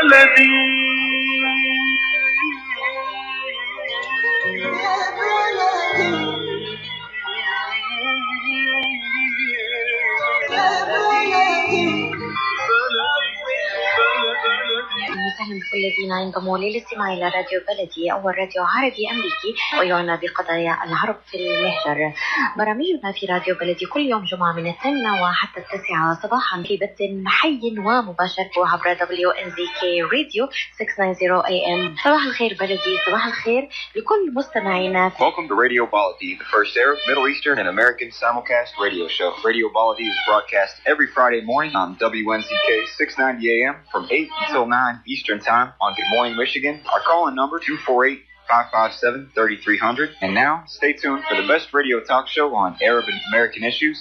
وسهلا بكل الذين ينضموا للاستماع إلى راديو بلدي، أول راديو عربي أمريكي ويعنى بقضايا العرب في المهجر. برامجنا في راديو بلدي كل يوم جمعة من 8 وحتى 9 صباحا في بث حي ومباشر عبر WNZK راديو 690 AM. صباح الخير بلدي، صباح الخير لكل مستمعينا. Welcome to Radio Baladi, the first Arab, Middle Eastern, and American simulcast radio show. Radio Baladi is broadcast every Friday morning on WNZK 690 AM from 8 until 9 Eastern Time on Good Morning Michigan. Our call-in number 248-557-3300. And now, stay tuned for the best radio talk show on Arab and American issues.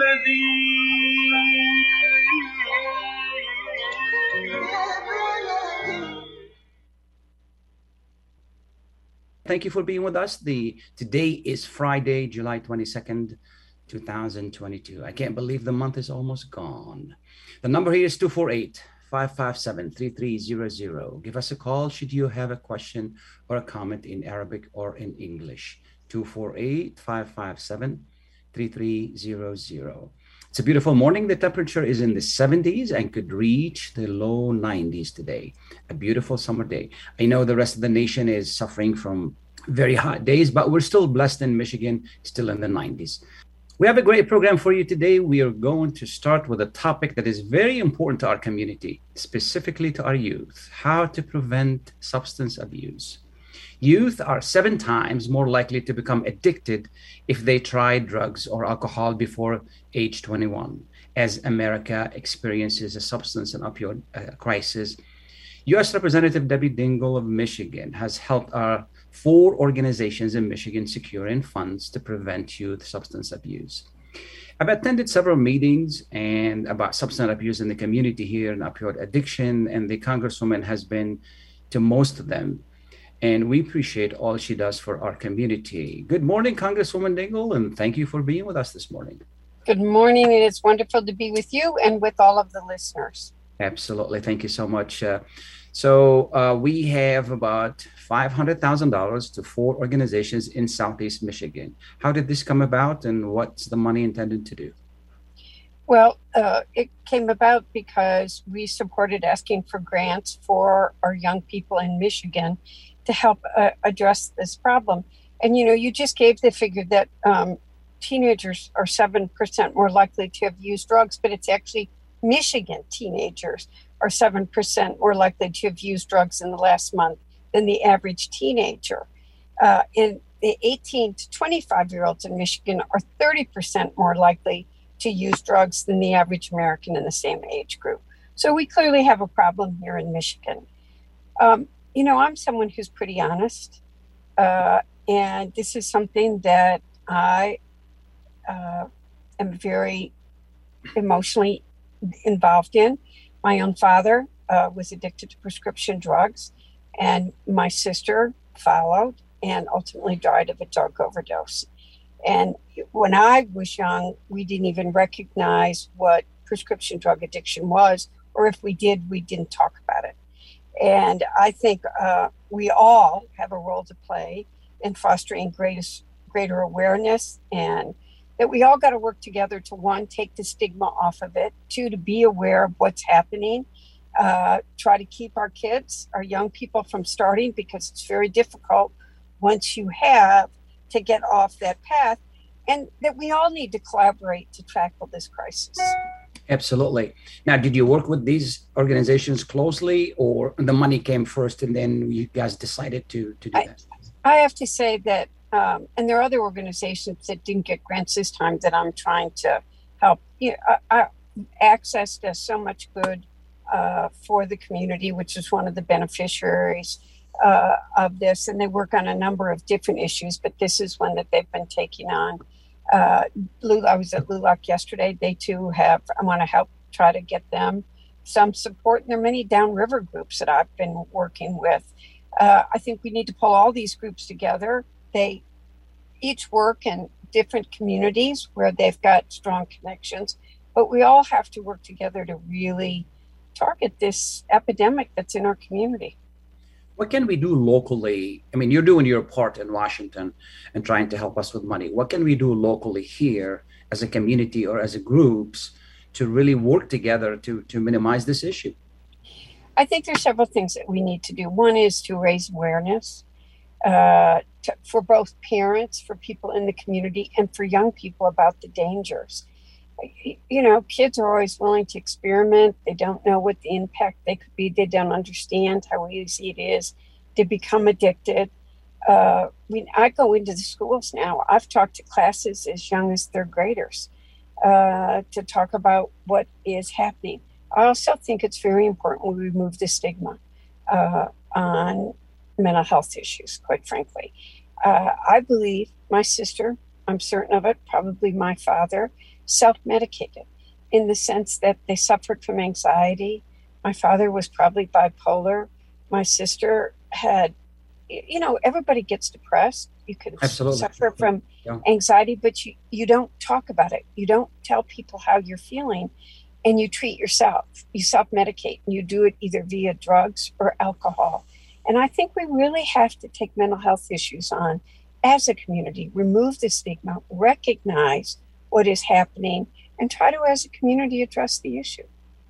Thank you for being with us. Today is Friday, July 22nd, 2022. I can't believe the month is almost gone. The number here is 248-557-3300. Give us a call should you have a question or a comment in Arabic or in English. 248-557-3300. It's a beautiful morning. The temperature is in the 70s and could reach the low 90s today. A beautiful summer day. I know the rest of the nation is suffering from very hot days, but we're still blessed in Michigan, still in the 90s. We have a great program for you today. We are going to start with a topic that is very important to our community, specifically to our youth: how to prevent substance abuse. Youth are 7 times more likely to become addicted if they try drugs or alcohol before age 21, as America experiences a substance and opioid crisis. U.S. Representative Debbie Dingell of Michigan has helped our 4 organizations in Michigan secure funds to prevent youth substance abuse. I've attended several meetings and about substance abuse in the community here and opioid addiction, and the Congresswoman has been to most of them. And we appreciate all she does for our community. Good morning, Congresswoman Dingell, and thank you for being with us this morning. Good morning, and it's wonderful to be with you and with all of the listeners. Absolutely. Thank you so much. We have about $500,000 to 4 organizations in Southeast Michigan. How did this come about, and what's the money intended to do? Well, it came about because we supported asking for grants for our young people in Michigan to help address this problem. And, you know, you just gave the figure that teenagers are 7% more likely to have used drugs, but it's actually Michigan teenagers are 7% more likely to have used drugs in the last month than the average teenager. And the 18 to 25-year-olds in Michigan are 30% more likely to use drugs than the average American in the same age group. So we clearly have a problem here in Michigan. You know, I'm someone who's pretty honest, and this is something that I am very emotionally involved in. My own father was addicted to prescription drugs, and my sister followed and ultimately died of a drug overdose. And when I was young, we didn't even recognize what prescription drug addiction was, or if we did, we didn't talk about it. And I think we all have a role to play in fostering greater awareness, and that we all got to work together to, 1, take the stigma off of it, 2, to be aware of what's happening, try to keep our kids, our young people from starting, because it's very difficult once you have to get off that path, and that we all need to collaborate to tackle this crisis. Absolutely. Now, did you work with these organizations closely, or the money came first and then you guys decided to do that? I have to say that, and there are other organizations that didn't get grants this time that I'm trying to help. You know, Access does so much good for the community, which is one of the beneficiaries of this, and they work on a number of different issues, but this is one that they've been taking on. I was at LULAC yesterday. They too I want to help try to get them some support. And there are many downriver groups that I've been working with. I think we need to pull all these groups together. They each work in different communities where they've got strong connections, but we all have to work together to really target this epidemic that's in our community. What can we do locally? I mean, you're doing your part in Washington and trying to help us with money. What can we do locally here as a community or as a groups to really work together to minimize this issue? I think there's several things that we need to do. One is to raise awareness for both parents, for people in the community, and for young people about the dangers. You know, kids are always willing to experiment. They don't know what the impact they could be. They don't understand how easy it is to become addicted. I go into the schools now. I've talked to classes as young as third graders to talk about what is happening. I also think it's very important we remove the stigma on mental health issues, quite frankly. I believe my sister, I'm certain of it, probably my father, self-medicated in the sense that they suffered from anxiety. My father was probably bipolar. My sister had, you know, everybody gets depressed. You can suffer from anxiety, but you don't talk about it. You don't tell people how you're feeling, and you treat yourself. You self-medicate, and you do it either via drugs or alcohol. And I think we really have to take mental health issues on as a community, remove the stigma, recognize what is happening, and try to, as a community, address the issue.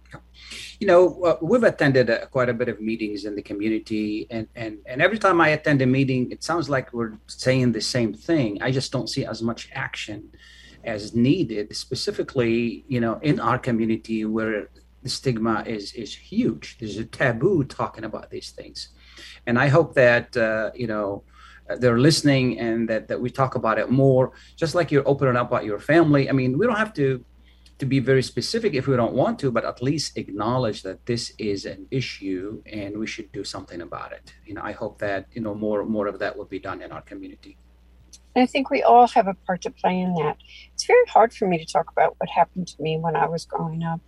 You know, we've attended quite a bit of meetings in the community, and every time I attend a meeting, it sounds like we're saying the same thing. I just don't see as much action as needed, specifically, you know, in our community where the stigma is huge. There's a taboo talking about these things. And I hope that, you know, they're listening and that we talk about it more, just like you're opening up about your family. I mean, we don't have to be very specific if we don't want to, but at least acknowledge that this is an issue and we should do something about it. You know, I hope that, you know, more of that will be done in our community. And I think we all have a part to play in that. It's very hard for me to talk about what happened to me when I was growing up,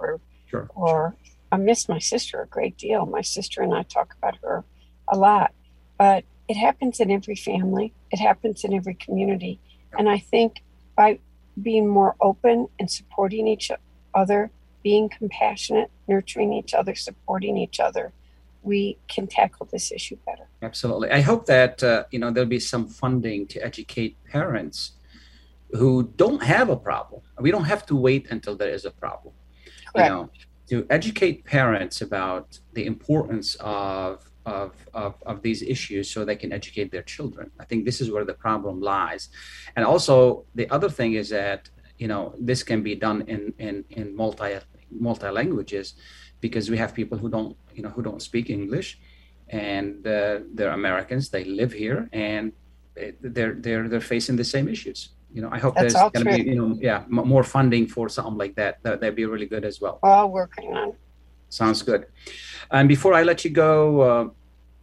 or I miss my sister a great deal. My sister and I talk about her a lot, but it happens in every family. It happens in every community. And I think by being more open and supporting each other, being compassionate, nurturing each other, supporting each other, we can tackle this issue better. Absolutely. I hope that, you know, there'll be some funding to educate parents who don't have a problem. We don't have to wait until there is a problem. Correct. You know, to educate parents about the importance of these issues so they can educate their children. I think this is where the problem lies. And also the other thing is that, you know, this can be done in multi languages, because we have people who don't speak English, and they're Americans, they live here, and they're facing the same issues. You know, I hope there's going to be, you know, more funding for something like that. That'd be really good as well. All working on. Sounds good. And before I let you go,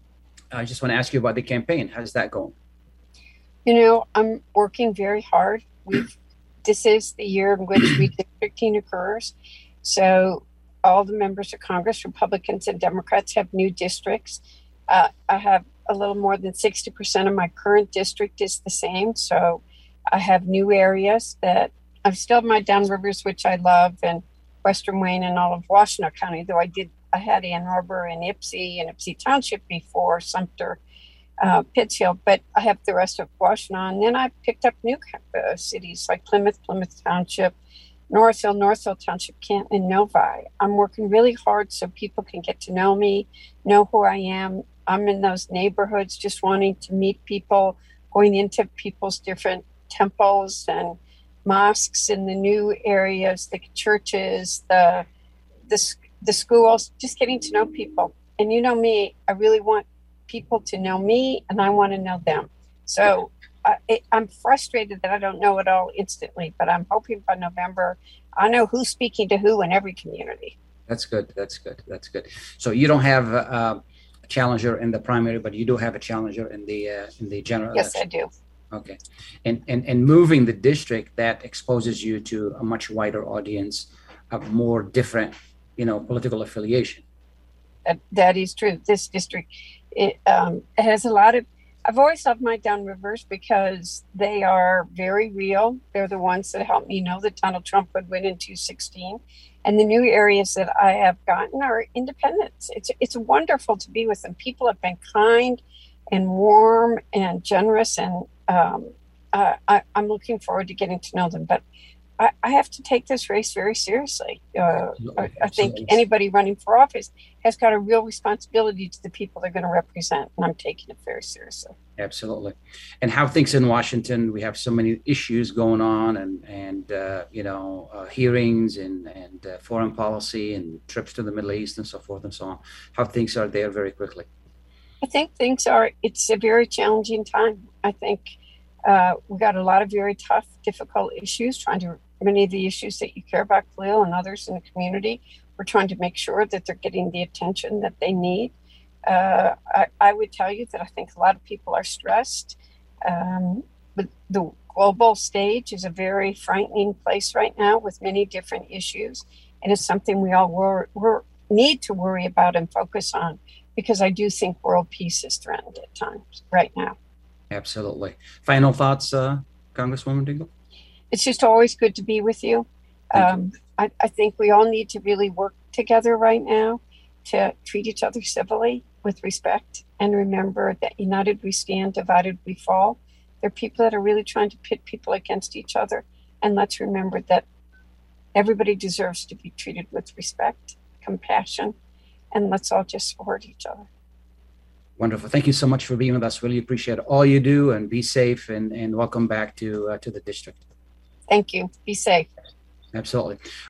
I just want to ask you about the campaign. How's that going? You know, I'm working very hard. This is the year in which redistricting occurs. So all the members of Congress, Republicans and Democrats, have new districts. I have a little more than 60% of my current district is the same. So I have new areas that I've still my downrivers, which I love, and Western Wayne and all of Washtenaw County, though I had Ann Arbor and Ypsi Township before, Sumter, Pittsfield, but I have the rest of Washtenaw. And then I picked up new cities like Plymouth Township, Northville Township, Canton, and Novi. I'm working really hard so people can get to know me, know who I am. I'm in those neighborhoods just wanting to meet people, going into people's different temples and mosques in the new areas, the churches, the schools, just getting to know people. And you know me, I really want people to know me, and I want to know them. So I'm frustrated that I don't know it all instantly, but I'm hoping by November I know who's speaking to who in every community. That's good. So you don't have a challenger in the primary, but you do have a challenger in the general Yes, election. I do. Okay. And moving the district, that exposes you to a much wider audience of more different, you know, political affiliation. That is true. This district, it has a lot of, I've always loved my downrivers because they are very real. They're the ones that helped me know that Donald Trump would win in 2016. And the new areas that I have gotten are independents. It's wonderful to be with them. People have been kind and warm and generous, and I'm looking forward to getting to know them. But I have to take this race very seriously. I think anybody running for office has got a real responsibility to the people they're going to represent, and I'm taking it very seriously. Absolutely. And how things in Washington, we have so many issues going on, and hearings and foreign policy and trips to the Middle East and so forth and so on. How things are there very quickly? I think it's a very challenging time. I think we got a lot of very tough, difficult issues, many of the issues that you care about, Khalil, and others in the community. We're trying to make sure that they're getting the attention that they need. I would tell you that I think a lot of people are stressed. But the global stage is a very frightening place right now with many different issues. And it's something we all need to worry about and focus on, because I do think world peace is threatened at times right now. Absolutely. Final thoughts, Congresswoman Dingell? It's just always good to be with you. I think we all need to really work together right now to treat each other civilly, with respect, and remember that united we stand, divided we fall. There are people that are really trying to pit people against each other. And let's remember that everybody deserves to be treated with respect, compassion, and let's all just support each other. Wonderful. Thank you so much for being with us. Really appreciate all you do, and be safe, and welcome back to the district. Thank you. Be safe. Absolutely.